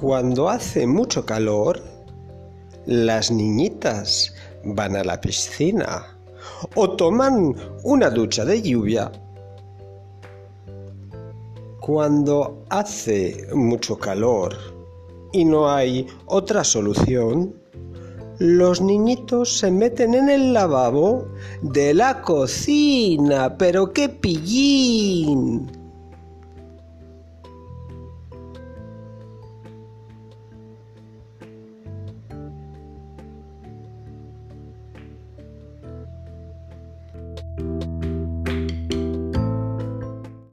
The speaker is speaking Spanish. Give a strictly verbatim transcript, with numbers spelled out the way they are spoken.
Cuando hace mucho calor, las niñitas van a la piscina o toman una ducha de lluvia. Cuando hace mucho calor y no hay otra solución, los niñitos se meten en el lavabo de la cocina. ¡Pero qué pillín!